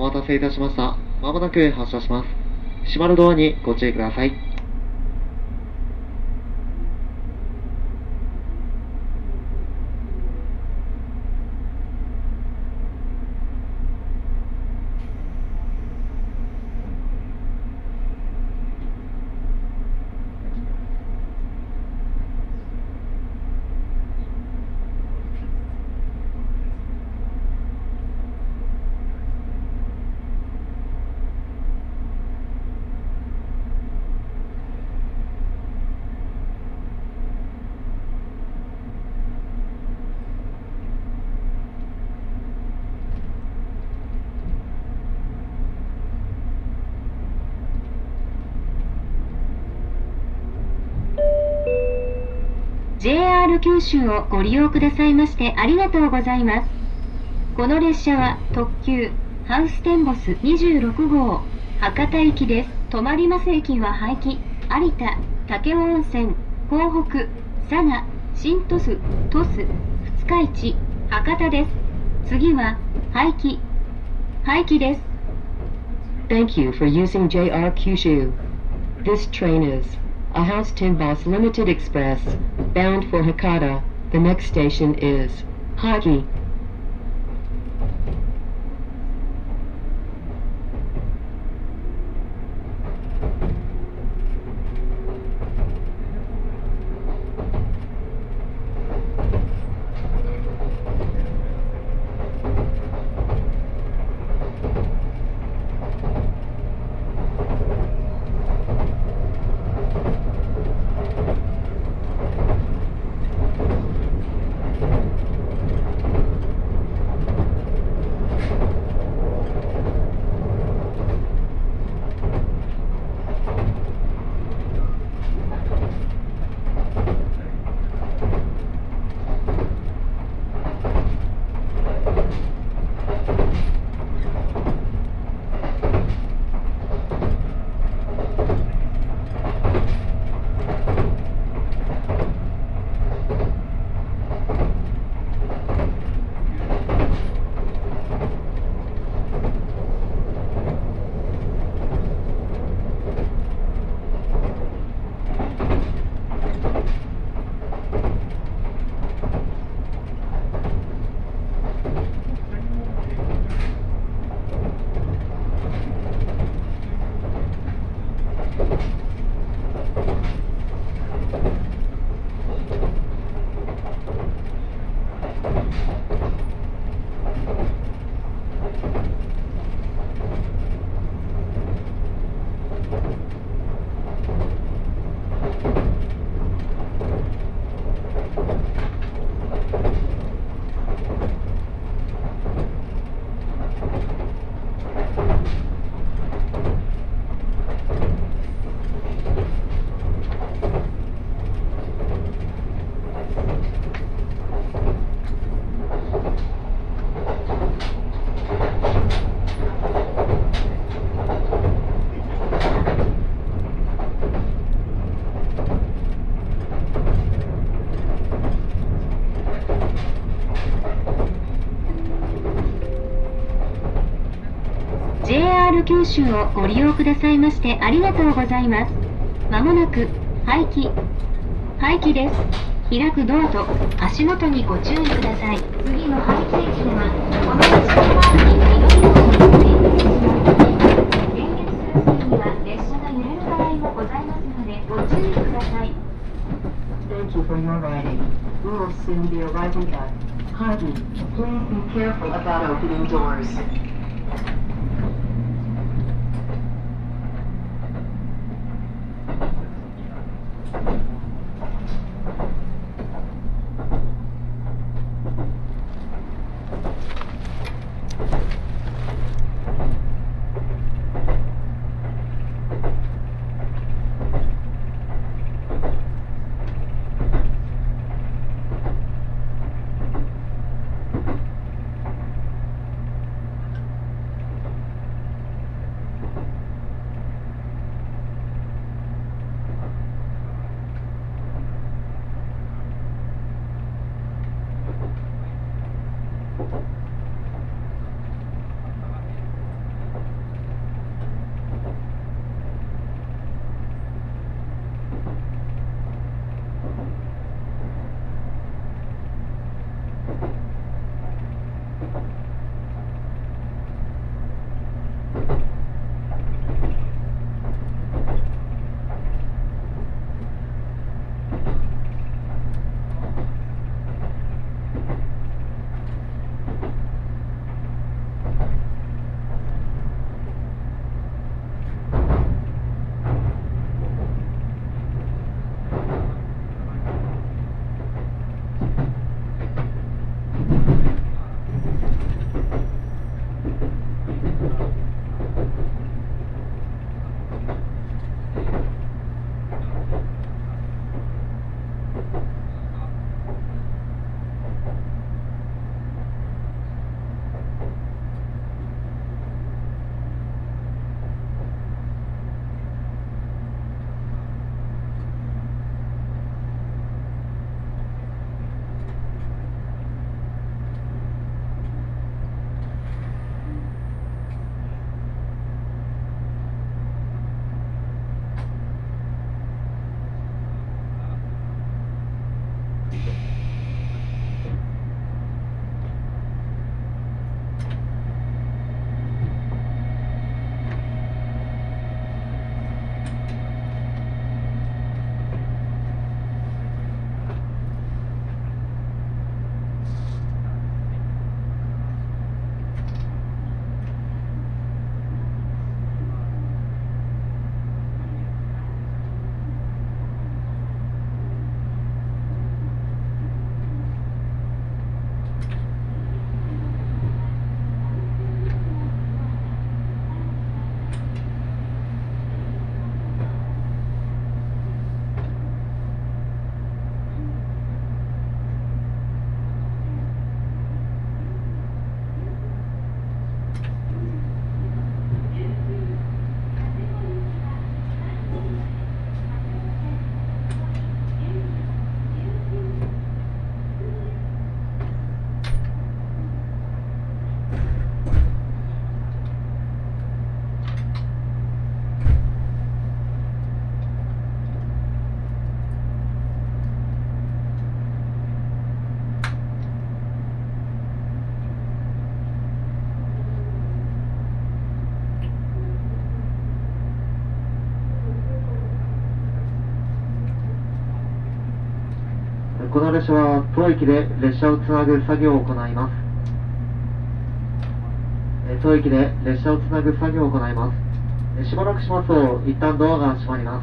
待たせいたしました。まもなく発車します。閉まるドアにご注意ください。 JR 九州をご利用くださいましてありがとうございます。この列車は特急ハウステンボス26号博多行きです。止まります駅は廃棄、有田、武雄温泉、港北、佐賀、新鳥栖、鳥栖、二日市、博多です。次は廃棄です。 Thank you for using JR Kyushu. This train is a House Tenbos Limited Express bound for Hakata. The next station is Hagi. JR 九州をご利用くださいましてありがとうございます。まもなく廃棄です。開くドアと足元にご注意ください。次の廃棄駅ではこの列車は左側に停止します。連結する際には列車が揺れる場合もございますのでご注意ください。 Thank you for your riding. We will soon be arriving at Hagi. Please be careful about opening doors. この列車は当駅で列車をつなぐ作業を行います。当駅で列車をつなぐ作業を行います。しばらくしますと一旦ドアが閉まります。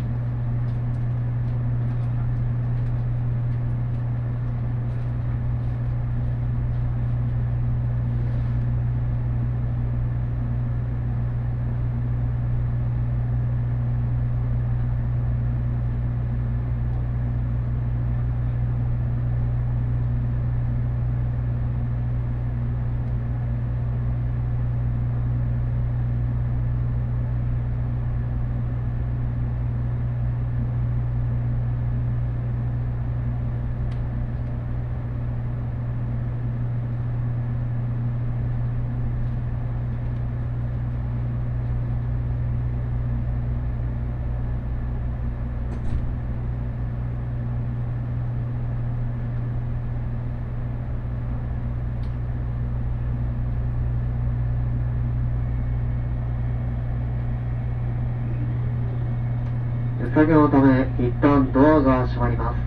作業のため一旦ドアが閉まります。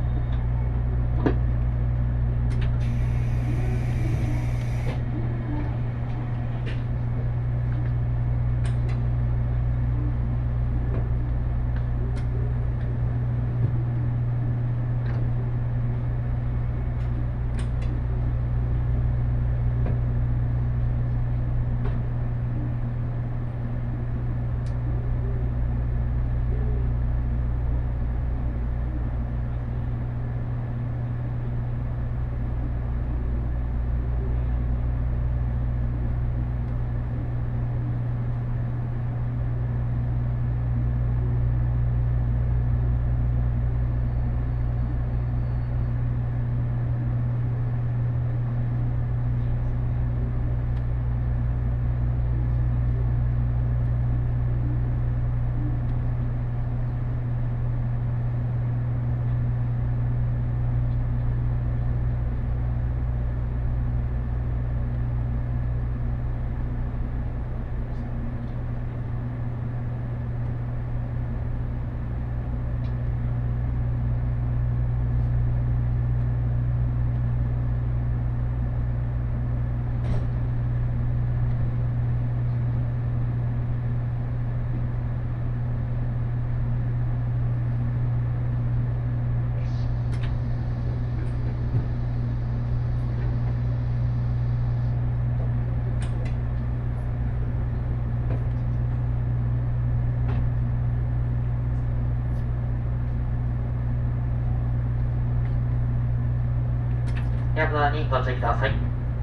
エアドアにご注意ください。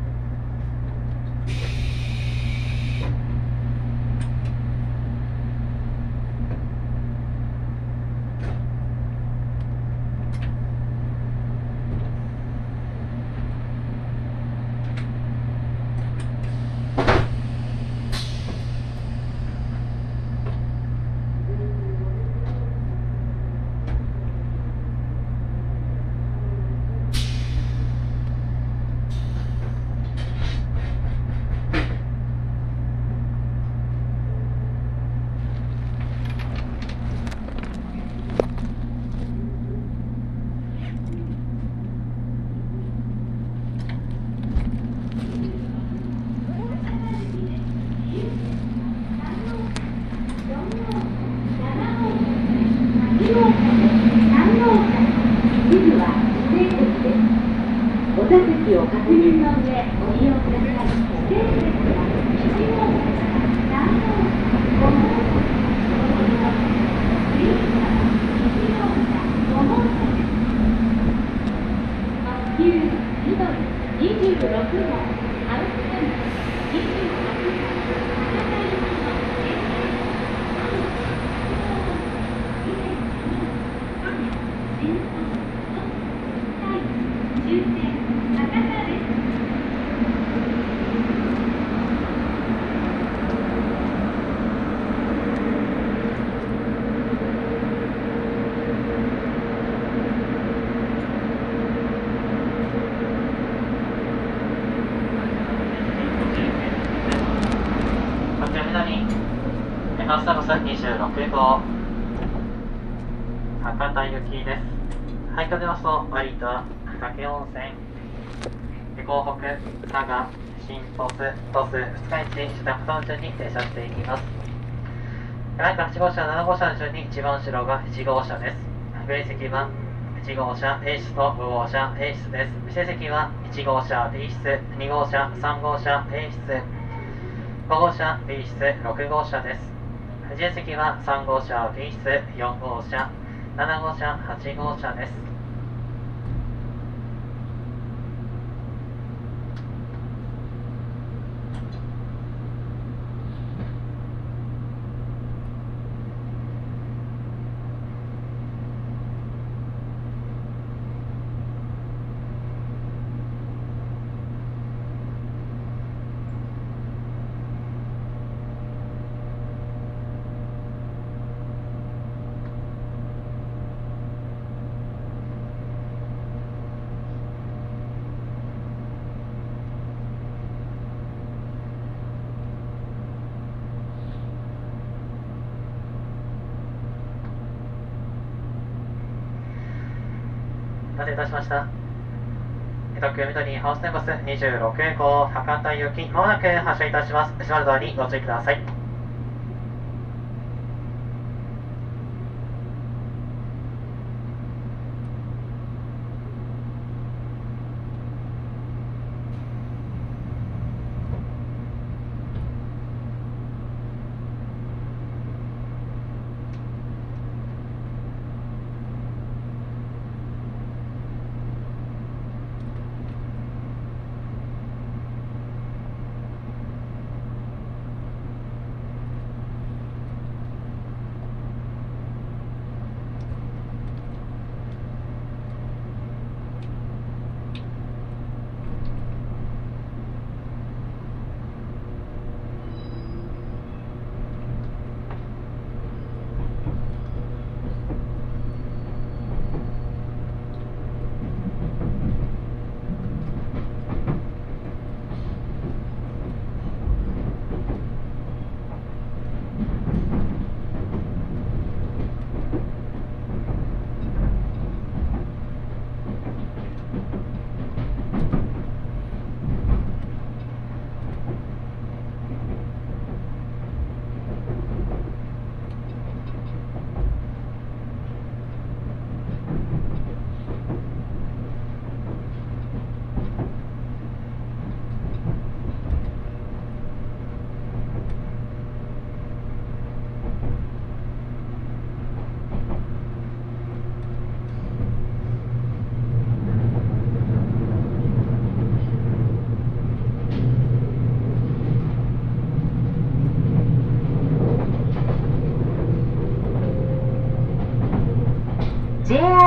お座席を確認の上ご利用ください。指定席は1号車から3号車、5号車、次は1号車、5号車です。特急緑26号ハウステンボス26号博多行きの電車です。終点博多です。 特急南ハウステンボス26号博多行きです。廃墟出ますと割と武温泉、港北、佐賀、新鳥栖、鳥栖、二日市、首都高の順に停車していきます。ライト8号車、7号車の順に一番後ろが1号車です。上位席は1号車 A 室と5号車 A 室です。指定席は1号車 B 室、2号車、3号車 A 室、5号車 B 室、6号車です。自由席は3号車 B 室、4号車、7号車、8号車です。お待たせいたしました。特急緑ハウステンボス26号博多行き、まもなく発車いたします。閉まるドアにご注意ください。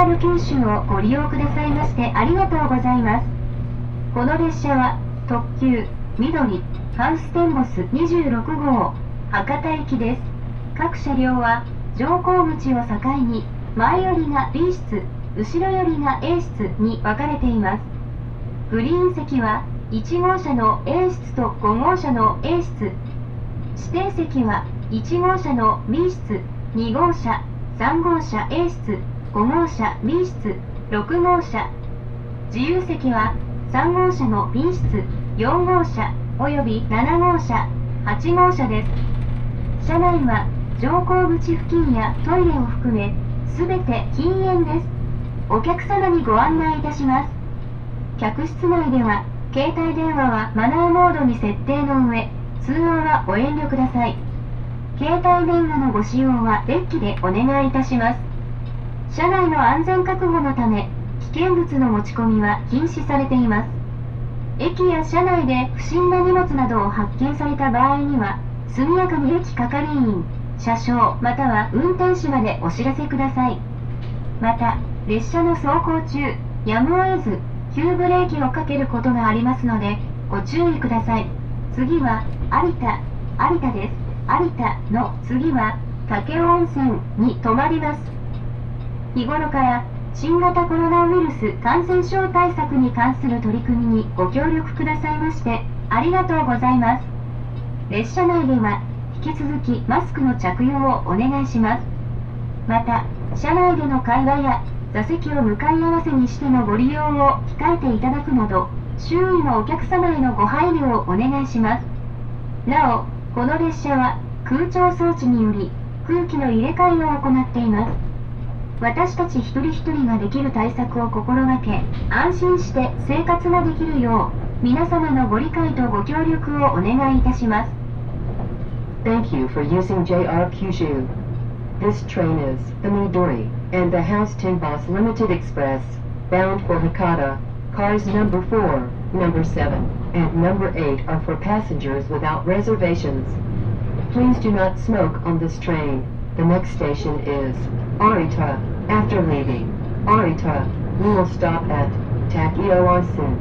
RR 九州をご利用くださいましてありがとうございます。この列車は特急緑ハウステンボス26号博多行きです。各車両は乗降口を境に前よりが B 室、後ろよりが A 室に分かれています。グリーン席は1号車の A 室と5号車の A 室、指定席は1号車の B 室、2号車、3号車 A 室、5号車 B 室、6号車、自由席は3号車の B 室、4号車および7号車、8号車です。車内は乗降口付近やトイレを含めすべて禁煙です。お客様にご案内いたします。客室内では携帯電話はマナーモードに設定の上、通話はご遠慮ください。携帯電話のご使用はデッキでお願いいたします。車内の安全確保のため危険物の持ち込みは禁止されています。駅や車内で不審な荷物などを発見された場合には速やかに駅係員、車掌または運転士までお知らせください。また列車の走行中やむを得ず急ブレーキをかけることがありますのでご注意ください。次は有田です。有田の次は武雄温泉に停まります。日頃から新型コロナウイルス感染症対策に関する取り組みにご協力くださいましてありがとうございます。列車内では引き続きマスクの着用をお願いします。また車内での会話や座席を向かい合わせにしてのご利用を控えていただくなど周囲のお客様へのご配慮をお願いします。なおこの列車は空調装置により空気の入れ替えを行っています。私たち一人一人ができる対策を心がけ安心して生活ができるよう皆様のご理解とご協力をお願いいたします。 Thank you for using JR Kyushu. This train is the Midori and the House Tenbus Limited Express, bound for Hakata. Cars number 4, number 7, and number 8 are for passengers without reservations. Please do not smoke on this train. The next station is Arita. After leaving Arita, we will stop at Takioasin.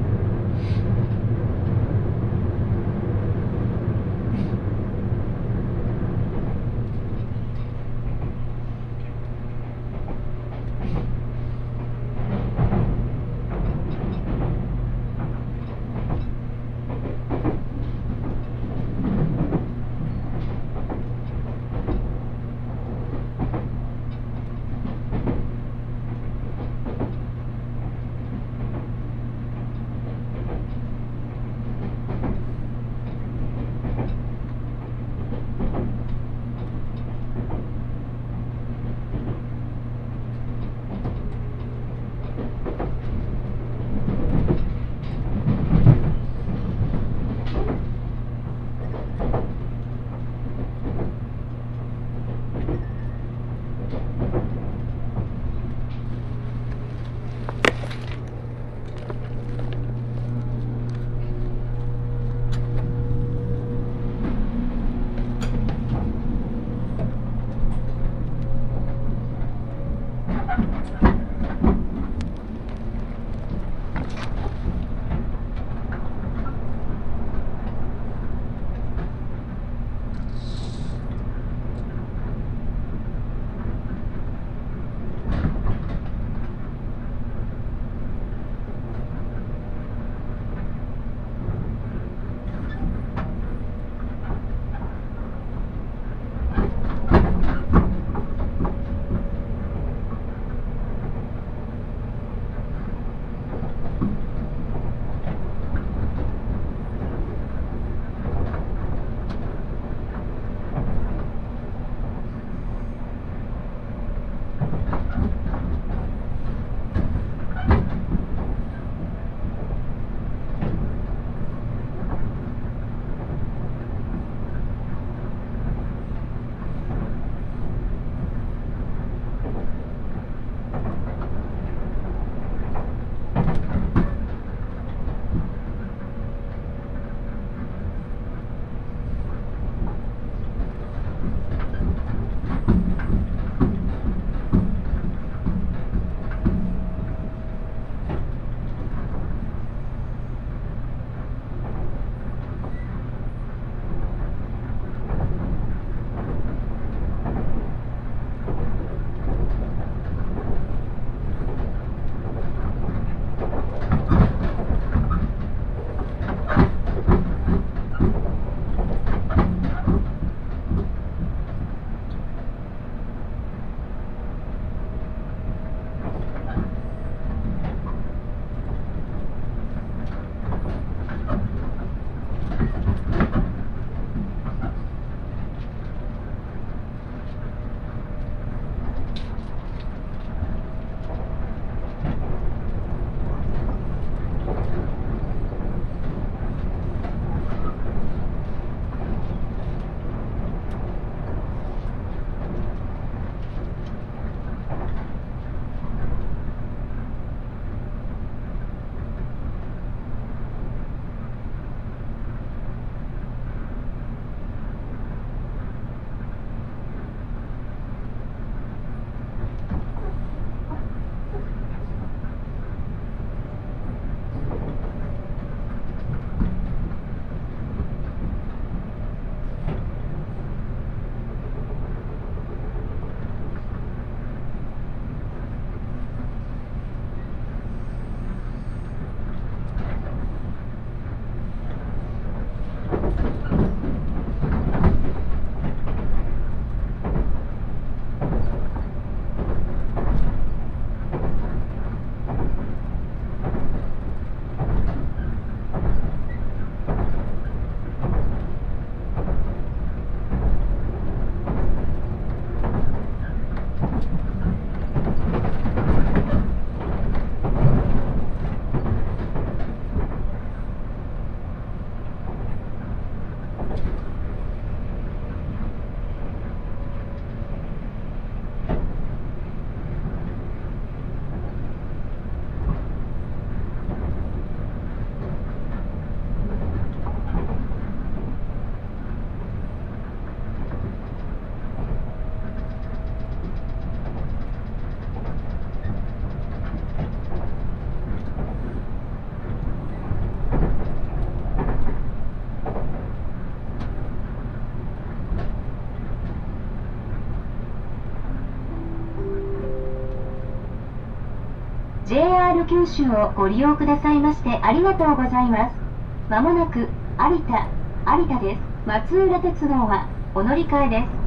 JR 九州をご利用くださいましてありがとうございます。まもなく有田です。松浦鉄道はお乗り換えです。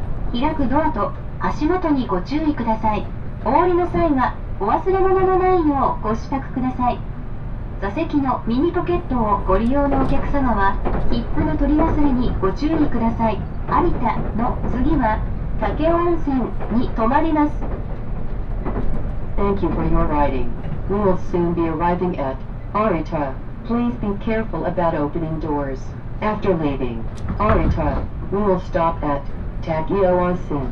開くドアと足元にご注意ください。お降りの際はお忘れ物のないようご支度ください。座席のミニポケットをご利用のお客様は切符の取り忘れにご注意ください。有田の次は武雄温泉に停まります。 Thank you for your riding. We will soon be arriving at Arita. Please be careful about opening doors. After leaving Arita, we will stop at Takeo Onsen.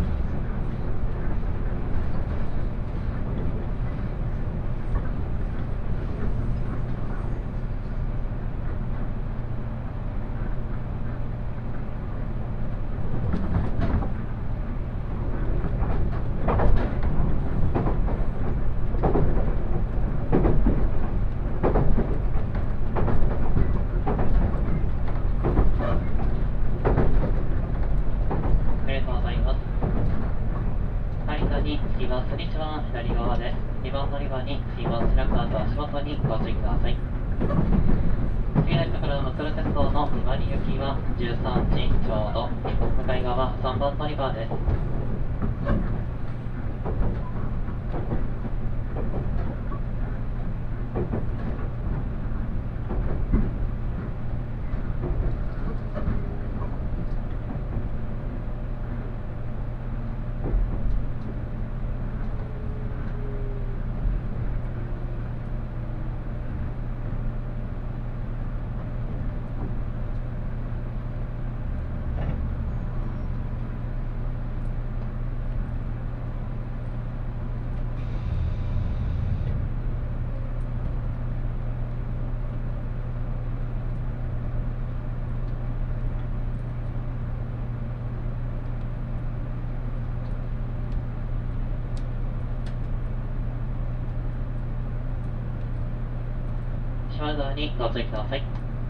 島根沢にご注意ください。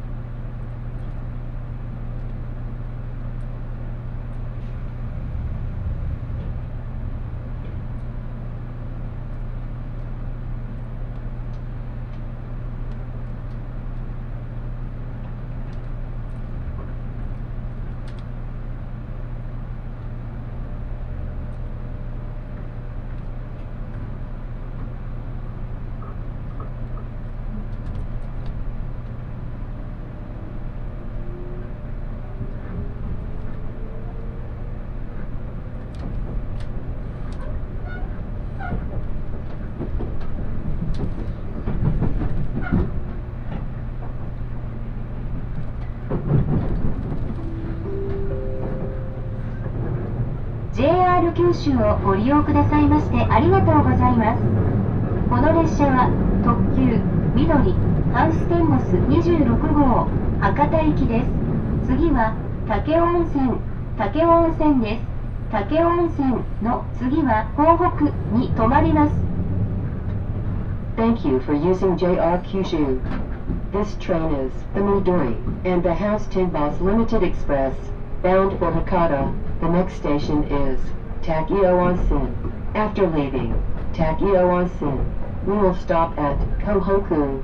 JR 九州をご利用くださいましてありがとうございます。この列車は特急緑ハウステンボス26号博多行きです。次は武雄温泉です。武雄温泉の次は港北に停まります。 Thank you for using JR Kyushu. This train is the Midori and the House Tinbos Limited Express bound for Hakata. The next station is Takeo Onsen. After leaving Takeo Onsen, we will stop at Kohoku.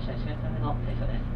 車1列目の停車です。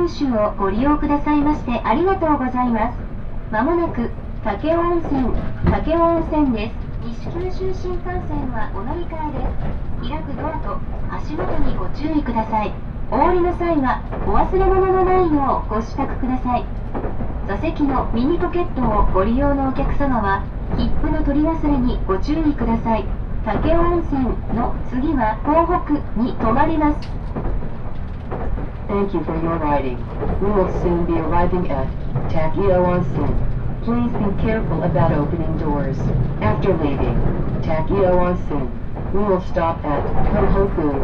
九州をご利用くださいましてありがとうございます。まもなく武雄温泉です。西九州新幹線はお乗り換えです。開くドアと足元にご注意ください。お降りの際はお忘れ物のないようご支度ください。座席のミニポケットをご利用のお客様は切符の取り忘れにご注意ください。武雄温泉の次は港北に停まります。 Thank you for your riding. We will soon be arriving at Takeo Onsen. Please be careful about opening doors. After leaving Takeo Onsen, we will stop at Kohoku.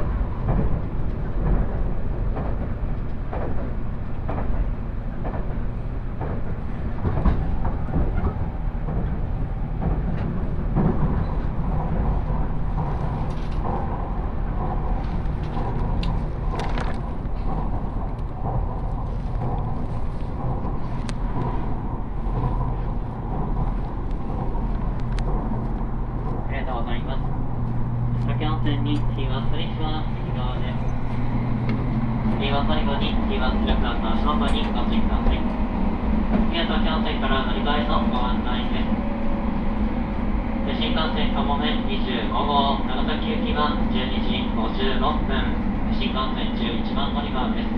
ありがとうございます。武雄温泉に着きます。列車は右側です。次は最後に着きます。ルクラスの足元にご注意ください。次は武雄温泉から乗り換えのご案内です。新幹線かもめ25号長崎行きは12時56分。新幹線11番乗り場です。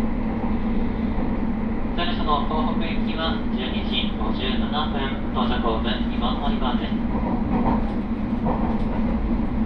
それその東北行きは12時57分。到着ホーム2番乗り場です。